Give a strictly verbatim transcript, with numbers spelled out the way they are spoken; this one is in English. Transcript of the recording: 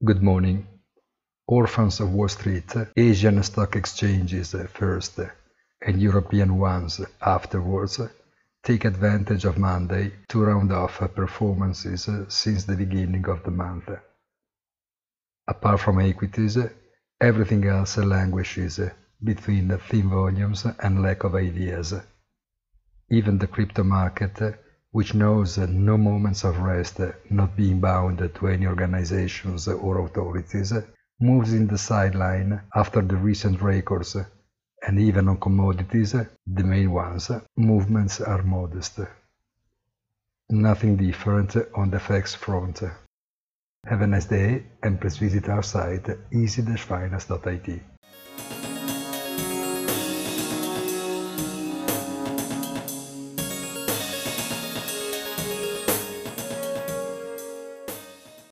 Good morning. Orphans of Wall Street, Asian stock exchanges first and European ones afterwards, take advantage of Monday to round off performances since the beginning of the month. Apart from equities, everything else languishes between thin volumes and lack of ideas. Even the crypto market, which knows no moments of rest, not being bound to any organizations or authorities, moves in the sideline after the recent records, and even on commodities, the main ones, movements are modest. Nothing different on the F X front. Have a nice day and please visit our site easy dash finance dot I T.